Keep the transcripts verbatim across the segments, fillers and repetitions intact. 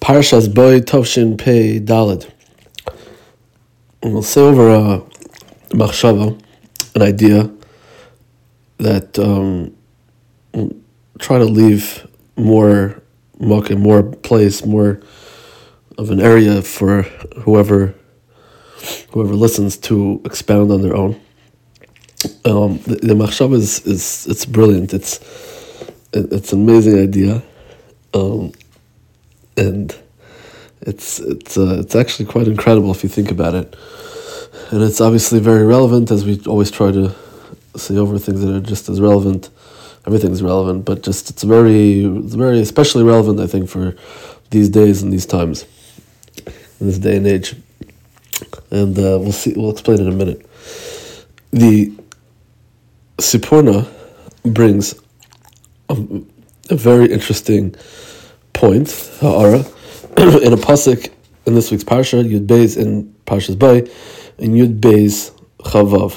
Parshas Boy Tovshin Pei Daled. We'll say over a machshava, an idea that um, we'll try to leave more muck, more place, more of an area for whoever whoever listens to expound on their own. Um, the, the machshava is, is it's brilliant. It's it, it's an amazing idea, um, and it's it's uh, it's actually quite incredible if you think about it. And it's obviously very relevant, as we always try to say over things that are just as relevant. Everything's relevant, but just it's very it's very especially relevant, I think, for these days and these times, in this day and age. And uh, we'll see. We'll explain in a minute. The Sipurna brings a, a very interesting point, ha'ara, in a pasuk in this week's parsha, Yud Beis in Parshas Bay, in Yud Beis Chavav,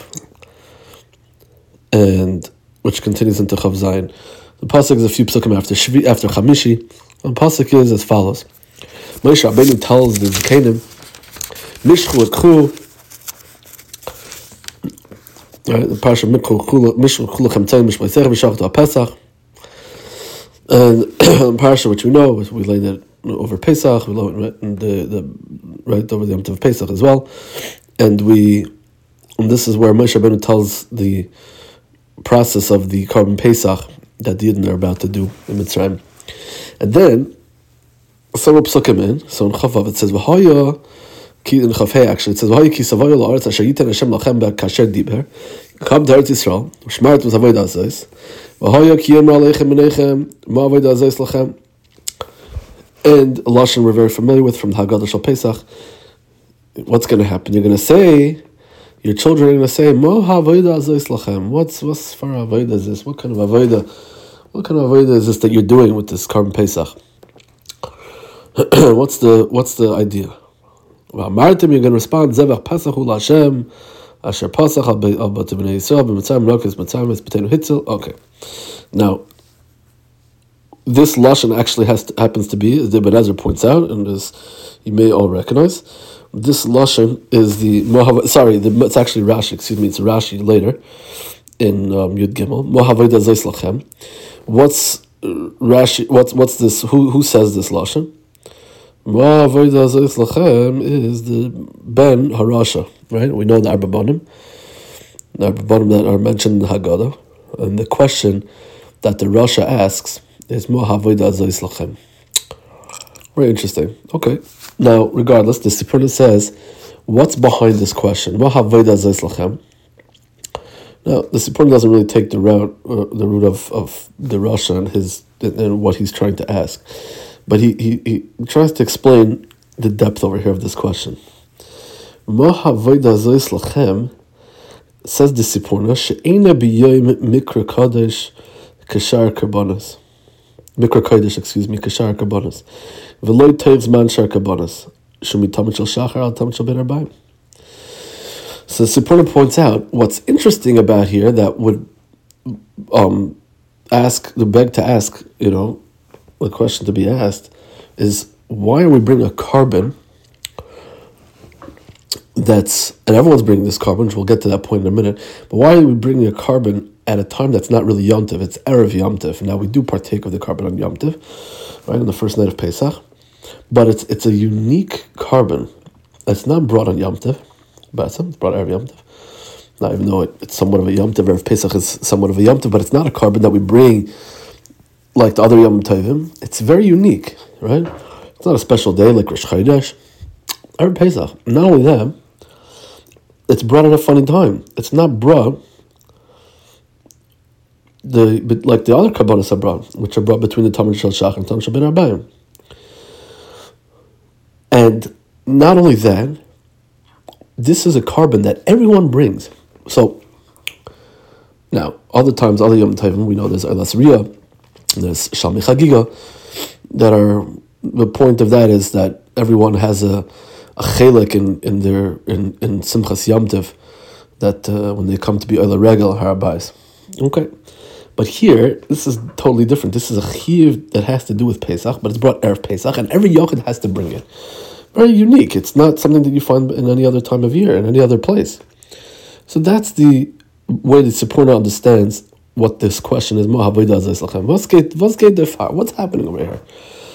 and which continues into Chav Zayin. The pasuk is a few psukim after Shvi, after Chamishi. The pasuk is as follows: Moshe Rabbeinu tells the Zikanim, Mishchu ekhu. Right, the parsha Mikhu Mishchu Kulachem Tzayim Mishmaisecha V'Shachtu HaPesach, and the parsha which we know, we learned it over Pesach, we learned the the right over the Yom Tov Pesach as well, and we and this is where Moshe Rabbeinu tells the process of the Korban Pesach that the Yidden are about to do in Mitzrayim, and then several psukim in. So in Chavav it says V'Haya. In Chafei, actually, it says, "V'haya ki savoy la'aretz asher yiten Hashem lachem be'kasher diber." Come to Eretz Yisrael, u'shmaret v'zavoda azos. V'haya ki yomra aleichem menechem ma avoda azos lachem. And a lashon we're very familiar with from the Haggadah Shal Pesach. What's going to happen? You're going to say, your children are going to say, "Ma ha'avoda azos lachem." What's what's for avoda is this? What kind of avoda? What kind of avoda is this that you're doing with this Korban Pesach? what's the what's the idea? Well, Martim, you're going to respond, Zevach Pasachu Lashem, Asher Pasach al B'nei Yisrael, B'mitzayim Rokes, Mitzayim B'tenu Hitzel. Okay. Now, this Lashon actually has to, happens to be, as Ibn Ezra points out, and as you may all recognize, this Lashon is the, Mohav, sorry, the, it's actually Rashi, excuse me, it's Rashi later, in um, Yud Gimel, Mohavayda Zeis Lachem. What's Rashi, what's, what's this, who, who says this Lashon? Ma avoda azos lachem is the Ben Harasha, right? We know the Arba Bonim, the Arba Bonim that are mentioned in the Haggadah, and the question that the Rasha asks is Ma avoda azos lachem. Very interesting. Okay. Now, regardless, the Sipurna says, what's behind this question? Ma avoda azos lachem. Now, the Sipurna doesn't really take the route, uh, the route of, of the Rasha and his and what he's trying to ask. But he, he, he tries to explain the depth over here of this question. Ma havoda azos lachem, says the Sipurna, she'ena b'yoyim mikra kodesh kashar karbonos. Mikra kodesh, excuse me, kashar karbonos. V'loy toiv zman shar karbonos. Shumi tamid shel shachar al tamid shel ben arbaim. So the Sipurna points out what's interesting about here that would um ask, the beg to ask, you know, the question to be asked is, why are we bringing a carbon that's, and everyone's bringing this carbon, which we'll get to that point in a minute, but why are we bringing a carbon at a time that's not really Yom Tov, it's Erev Yom Tov. Now we do partake of the carbon on Yom Tov, right, on the first night of Pesach, but it's it's a unique carbon that's not brought on Yom Tov, but it's brought Erev Yom Tov. Not even though it, it's somewhat of a Yom Tov, Erev Pesach is somewhat of a Yom Tov, but it's not a carbon that we bring like the other Yom Tovim. It's very unique, right? It's not a special day like Rosh Chodesh or Pesach. Not only that, it's brought at a funny time. It's not brought the but like the other Karbonos are brought, which are brought between the Tamid Shel Shach and Tamid Shel Ben Arbaim. And not only that, this is a carbon that everyone brings. So now, other times, other Yom Tovim, we know there's Eilas Riyah, there's Shalmi Chagiga, that are, the point of that is that everyone has a a chelik in, in their in, in Simchas Yom Tov, that uh, when they come to be Ola Regel Har Bayis. Okay. But here, this is totally different. This is a chiyuv that has to do with Pesach, but it's brought Erev Pesach, and every yochid has to bring it. Very unique. It's not something that you find in any other time of year, in any other place. So that's the way the Sipurna understands what this question is. What's happening over here?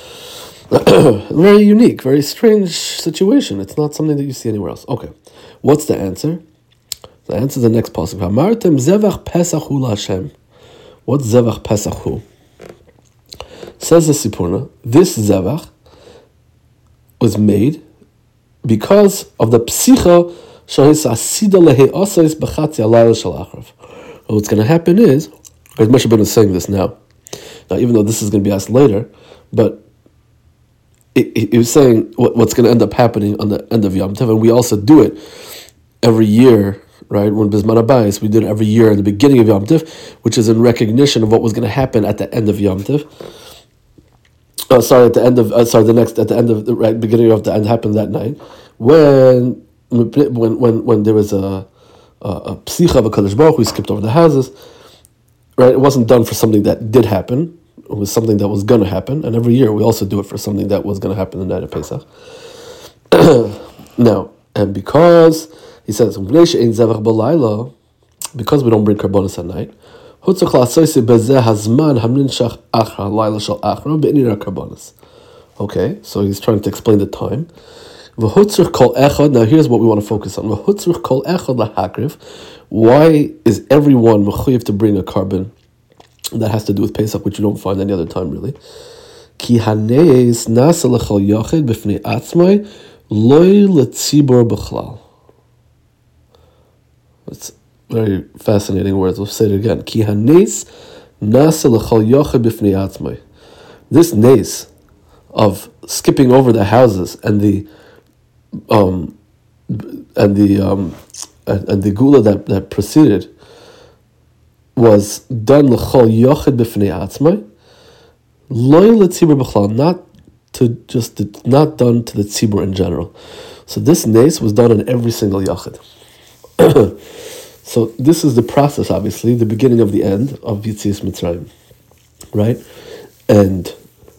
Very unique, very strange situation. It's not something that you see anywhere else. Okay, what's the answer? The answer is the next pasuk. Hamartem zevach pesach hu l'Hashem. What's zevach pesach hu? Says the Sipurna, this zevach was made because of the psicha shahis asida lehe osais b'chatzi alayla shel achrav. What's going to happen is, because Moshe Rabbeinu is saying this now. Now, even though this is going to be asked later, but he was saying what, what's going to end up happening on the end of Yom Tov, and we also do it every year, right? When Bizman Abayis, we did it every year at the beginning of Yom Tov, which is in recognition of what was going to happen at the end of Yom Tov. Oh, sorry, at the end of uh, sorry, the next at the end of the right beginning of the end happened that night when when when when there was a a, a psicha of a Kadosh Baruch Hu, we skipped over the houses, right? It wasn't done for something that did happen. It was something that was going to happen, and every year we also do it for something that was going to happen the night of Pesach. Now, and because he says because we don't bring karbonos at night, okay, so he's trying to explain the time. Now here's what we want to focus on. Why is everyone mechuyev to bring a carbon? That has to do with Pesach, which you don't find any other time, really. Ki haneis nasa lechol yachid b'fnei atzmai loy letzibor b'chlal. It's very fascinating words. We'll say it again. Ki haneis nasa lechol yachid b'fnei atzmai. This nes of skipping over the houses and the um and the um and, and the gula that, that preceded was done l'chol yochid b'fnei atzmai, loy letzibur b'chlal, not to just the, not done to the tzibur in general. So this nes was done on every single yochid. So this is the process, obviously, the beginning of the end of Yetzias Mitzrayim, right? And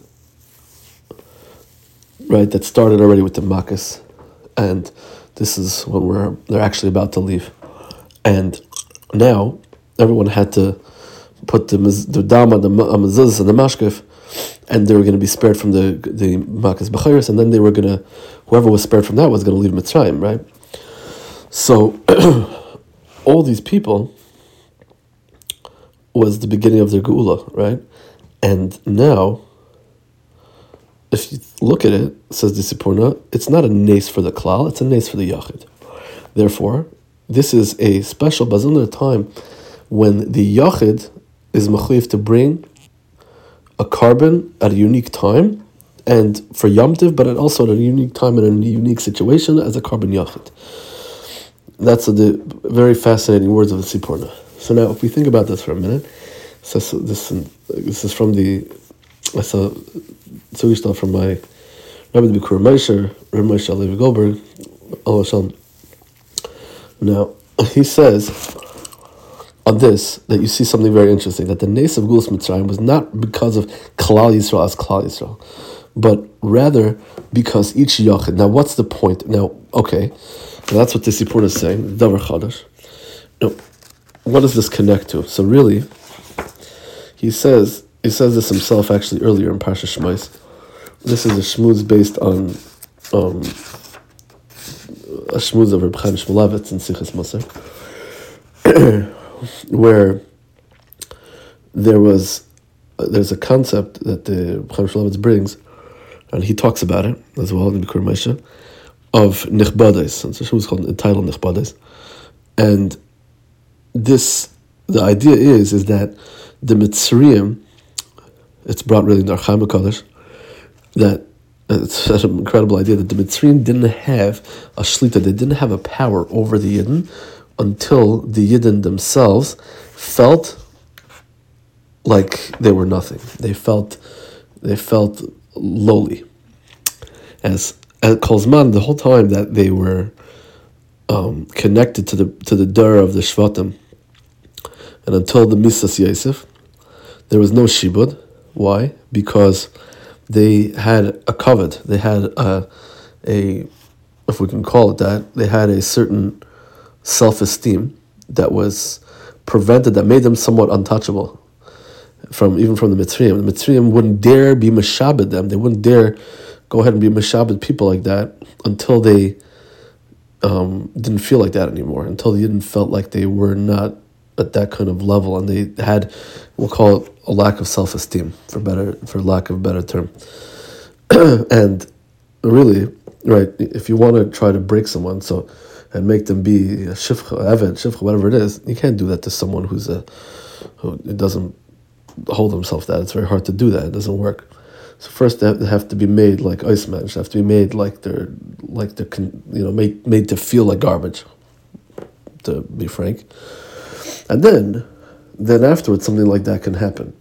right, that started already with the Makkos, and this is when we're they're actually about to leave, and now everyone had to put the the dama, the mezuzah, and the mashkef, and they were going to be spared from the the makas b'chayros, and then they were going to, whoever was spared from that was going to leave Mitzrayim, right? So all these people was the beginning of their geula, right? And now, if you look at it, says the Sipurna, it's not a nes for the klal, it's a nes for the yachid. Therefore, this is a special bazilna time when the yachid is mechuyev to bring a carbon at a unique time, and for Yom Tov, but also at a unique time and a unique situation as a carbon yachid. That's the very fascinating words of the Sipurna. So now, if we think about this for a minute, so this this is from the that's a Zugishtal from my Rabbi the Bikur Moshe, Rabbi Moshe Levi Goldberg, Allah Shalom. Now he says on this that you see something very interesting, that the nes of Gulas Mitzrayim was not because of Klal Yisrael as Klal Yisrael, but rather because each Yachid. Now, what's the point? Now, okay, now that's what the Sipurna is saying, Davar Chadash. Now, what does this connect to? So really, he says he says this himself actually earlier in Parsha Shmos. This is a shmuz based on um, a shmuz of Reb Chaim Shmulevitz in Sichas Musar, where there was uh, there's a concept that the Reb Chaim Shmulevitz brings, and he talks about it as well in the Bikur Moshe, of Nichbades. It's a shmuz called entitled Nichbades, and this the idea is is that the Mitzrayim, it's brought really in the Archaim HaKadosh, that it's such an incredible idea that the Mitzrayim didn't have a shlita, they didn't have a power over the Yidden until the Yidden themselves felt like they were nothing. They felt they felt lowly. As at Kolzman, the whole time that they were um, connected to the to the Dara of the Shvatim, and until the Misas Yosef, there was no shibud. Why? Because they had a covet. They had a, a, if we can call it that, they had a certain self-esteem that was prevented, that made them somewhat untouchable from even from the Mitzrayim. The Mitzrayim wouldn't dare be meshabed them. They wouldn't dare go ahead and be meshabed people like that until they um, didn't feel like that anymore, until they didn't felt like they were not at that kind of level, and they had, we'll call it a lack of self-esteem, for better, for lack of a better term. And really, right, if you want to try to break someone, so and make them be a shifcha, eved, shifcha, whatever it is, you can't do that to someone who's a who doesn't hold himself that. It's very hard to do that. It doesn't work. So first they have, they have to be made like iceman. They have to be made like they're like they're you know made made to feel like garbage, to be frank. And then, then afterwards, something like that can happen.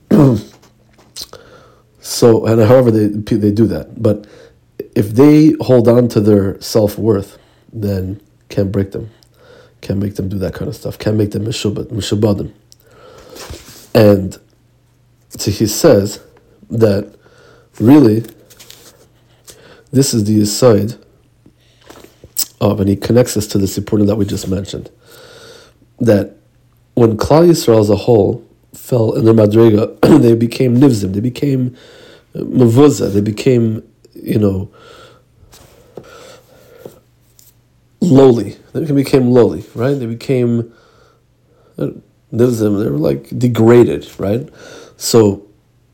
So, and however they they do that, but if they hold on to their self-worth, then can't break them, can't make them do that kind of stuff, can't make them mishubad, mishubadim. And so he says that really, this is the side of, and he connects us to the sipurna that we just mentioned, that when Klal Yisrael as a whole fell in their madrega, they became nivzim, they became mavuzah, they became, you know, lowly. They became lowly, right? They became nivzim, they were like degraded, right? So,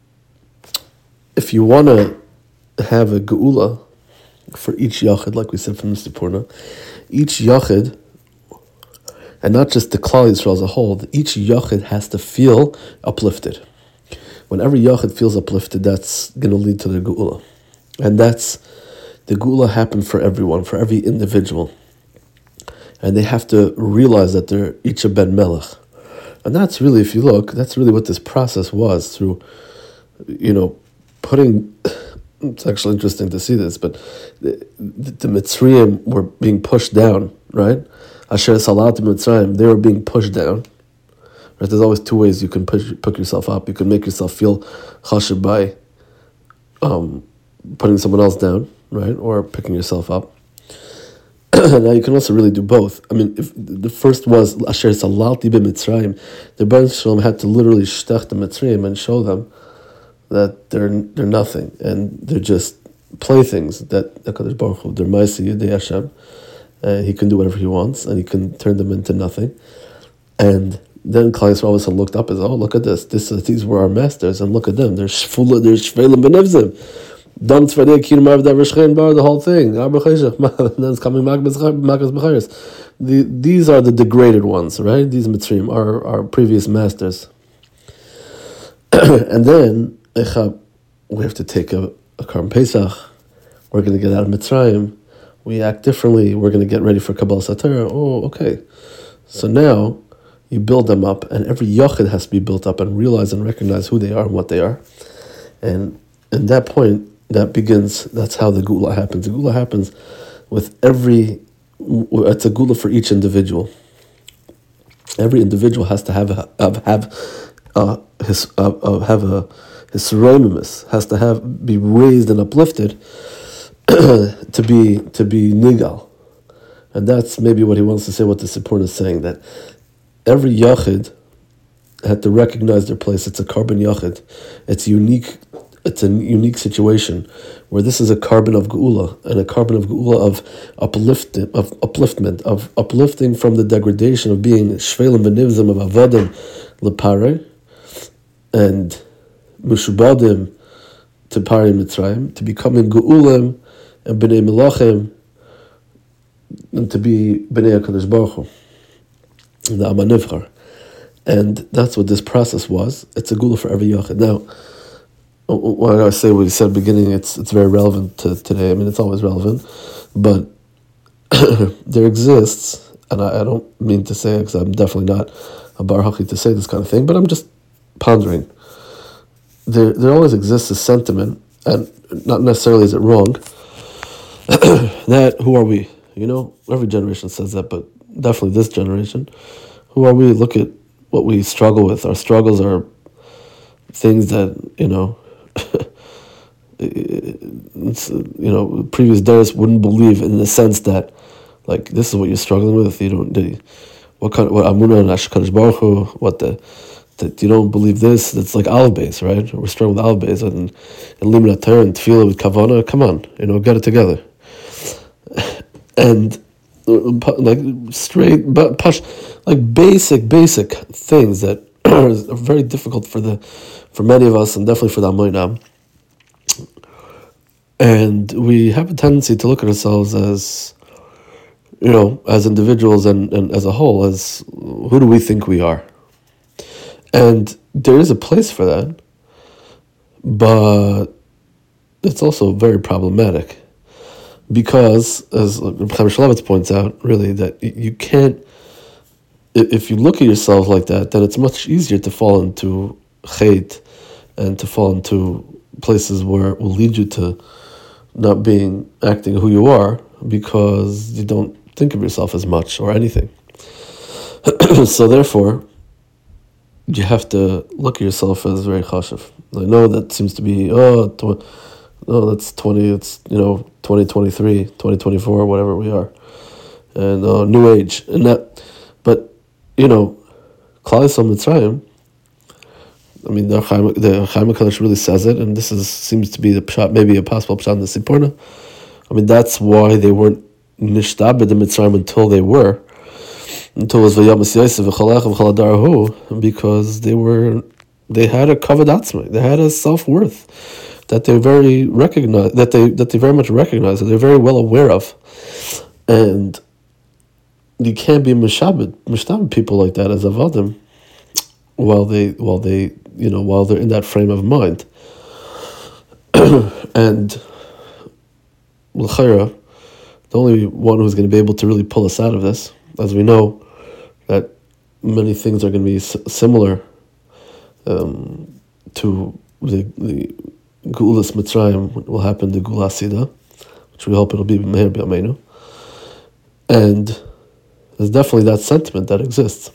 if you want to have a geula for each yachid, like we said from the Sipurna, each yachid, and not just the Klal Yisrael as a whole, each yachid has to feel uplifted. When every yachid feels uplifted, that's going to lead to the geula. And that's, the geula happened for everyone, for every individual. And they have to realize that they're each a ben melech. And that's really, if you look, that's really what this process was, through, you know, putting, it's actually interesting to see this, but the, the, the Mitzrayim were being pushed down, right? Asher Salat Mitzrayim, they were being pushed down. Right? There's always two ways you can push, pick yourself up. You can make yourself feel chashiv by um, putting someone else down, right? Or picking yourself up. Now you can also really do both. I mean, if the first was Asher Salalti b'Mitzrayim, the Rebbeinu Shalom had to literally shtech the Mitzrayim and show them that they're they're nothing and they're just playthings. That HaKadosh Baruch Hu, they're Ma'aseh Yidei Hashem. Uh, he can do whatever he wants, and he can turn them into nothing. And then Klal Yisrael all of a sudden looked up and said, "Oh, look at this! This is, these were our masters, and look at them. They're shfula, they're shvelim benevzim. Dam tzvadei kirim arvda v'shchein bar, the whole thing. Then it's coming makas b'chayrus. The These are the degraded ones, right? These Mitzrayim are our previous masters. And then we have to take a, a Karm Pesach. We're going to get out of Mitzrayim. We act differently. We're going to get ready for Kabbalah Satorah. Oh, okay. So now you build them up, and every yachid has to be built up and realize and recognize who they are and what they are. And at that point, that begins, that's how the Geula happens. The Geula happens with every, it's a Geula for each individual. Every individual has to have a, have, have uh, his, uh, uh, have a, his seremimus, has to have, be raised and uplifted to be to be nigal. And that's maybe what he wants to say, what the Sipurna is saying, that every yachid had to recognize their place. It's a carbon yachid. It's unique. It's a unique situation where this is a carbon of geula, and a carbon of geula of uplifting, of upliftment, of uplifting from the degradation of being shvelim v'nivzim, of avadim lepare, and mushubadim to pari Mitzrayim, to becoming geulim and b'nei melachim, and to be b'nei HaKadosh Baruch Hu, the Am HaNivchar. And that's what this process was. It's a geula for every yachid. Now, when I say what he said at the beginning, it's it's very relevant to today. I mean, it's always relevant, but there exists, and I, I don't mean to say it because I'm definitely not a bar haki to say this kind of thing, but I'm just pondering. There, there always exists a sentiment, and not necessarily is it wrong, that who are we? You know, every generation says that, but definitely this generation. Who are we? Look at what we struggle with. Our struggles are things that, you know, it's, you know, previous days wouldn't believe, in the sense that, like, this is what you're struggling with. You don't, the, what kind of, what Amunah and Hakadosh Baruch Hu, what the, that you don't believe this, that's like Aleph Beis, right? We're struggling with Aleph Beis, and and Limud Torah and Tefillah with Kavanah. Come on, you know, get it together. And like straight, but push, like basic, basic things that are very difficult for the, for many of us, and definitely for the Amoinam. And we have a tendency to look at ourselves as, you know, as individuals and, and as a whole, as who do we think we are? And there is a place for that, but it's also very problematic, because, as Chaim Shulevitz points out, really, that you can't, if you look at yourself like that, then it's much easier to fall into hate and to fall into places where it will lead you to not being, acting who you are, because you don't think of yourself as much or anything. So therefore, you have to look at yourself as very chashuv. I know that seems to be, oh, tw- no, that's twenty, it's, you know, twenty twenty-three, twenty twenty-four, whatever we are. And uh, new age. And that, but, you know, Klal Yisrael Mitzrayim, I mean, the Chaim, the Chaim HaKadosh really says it, and this is seems to be the pshat, maybe a possible pshat in the Sipurna. I mean, that's why they weren't nishtabed in Mitzrayim until they were, until it was Vayamas Yosef v'chalach v'chaladarahu, because they were, they had a kavod atzmai, they had a self-worth that they very recognize, that they that they very much recognize, that they're very well aware of, and you can't be mishabed, mishtabed people like that as avadim, while they while they you know while they're in that frame of mind. And l'chayra, the only one who's going to be able to really pull us out of this, as we know that many things are going to be s- similar um, to the the Geulas Mitzrayim will happen to Geula Sida, which we hope it'll be Meher B'Yameinu. And there's definitely that sentiment that exists.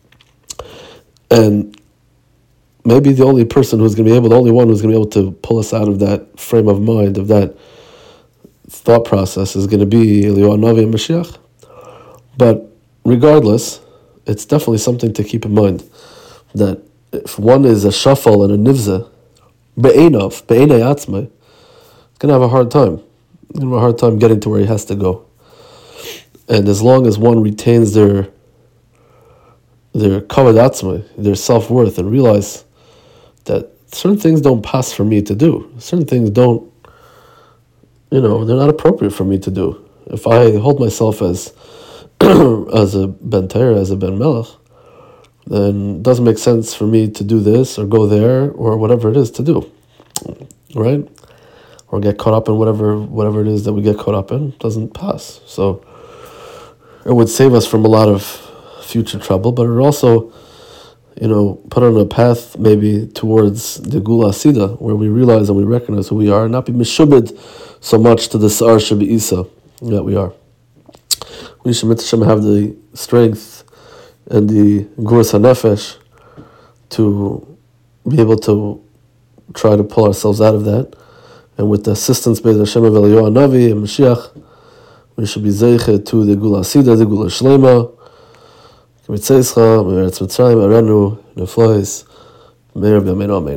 And maybe the only person who's going to be able, the only one who's going to be able to pull us out of that frame of mind, of that thought process, is going to be Eliyahu Navi and Mashiach. But regardless, it's definitely something to keep in mind, that if one is a shafal and a nivza, be'enov, be'enei atzmai, it's going to have a hard time. It's going to have a hard time getting to where he has to go. And as long as one retains their their kavod atzmai, their self-worth, and realize that certain things don't pass for me to do, certain things don't, you know, they're not appropriate for me to do. If I hold myself as as a ben Torah, as a ben melech, then it doesn't make sense for me to do this or go there or whatever it is to do, right? Or get caught up in whatever whatever it is that we get caught up in. It doesn't pass. So it would save us from a lot of future trouble, but it would also, you know, put on a path maybe towards the Geula Sida, where we realize and we recognize who we are, and not be meshubed so much to the Sa'ar Shebi Isa that we are. We should have the strength and the Guras HaNefesh to be able to try to pull ourselves out of that. And with the assistance by the Hashem of Eliyahu Navi and Mashiach, we should be zeiche to the Geula Sida, the Geula Shlema, K'mitzayischa, Me'eretz Mitzrayim, Arenu, Neflois, Me'er B'Yameinu Amen.